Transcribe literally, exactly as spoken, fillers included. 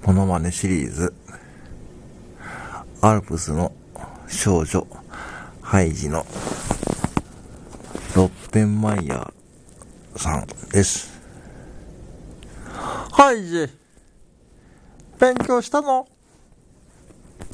モノマネシリーズ、アルプスの少女ハイジのロッペンマイヤーさんです。ハイジ、勉強したの？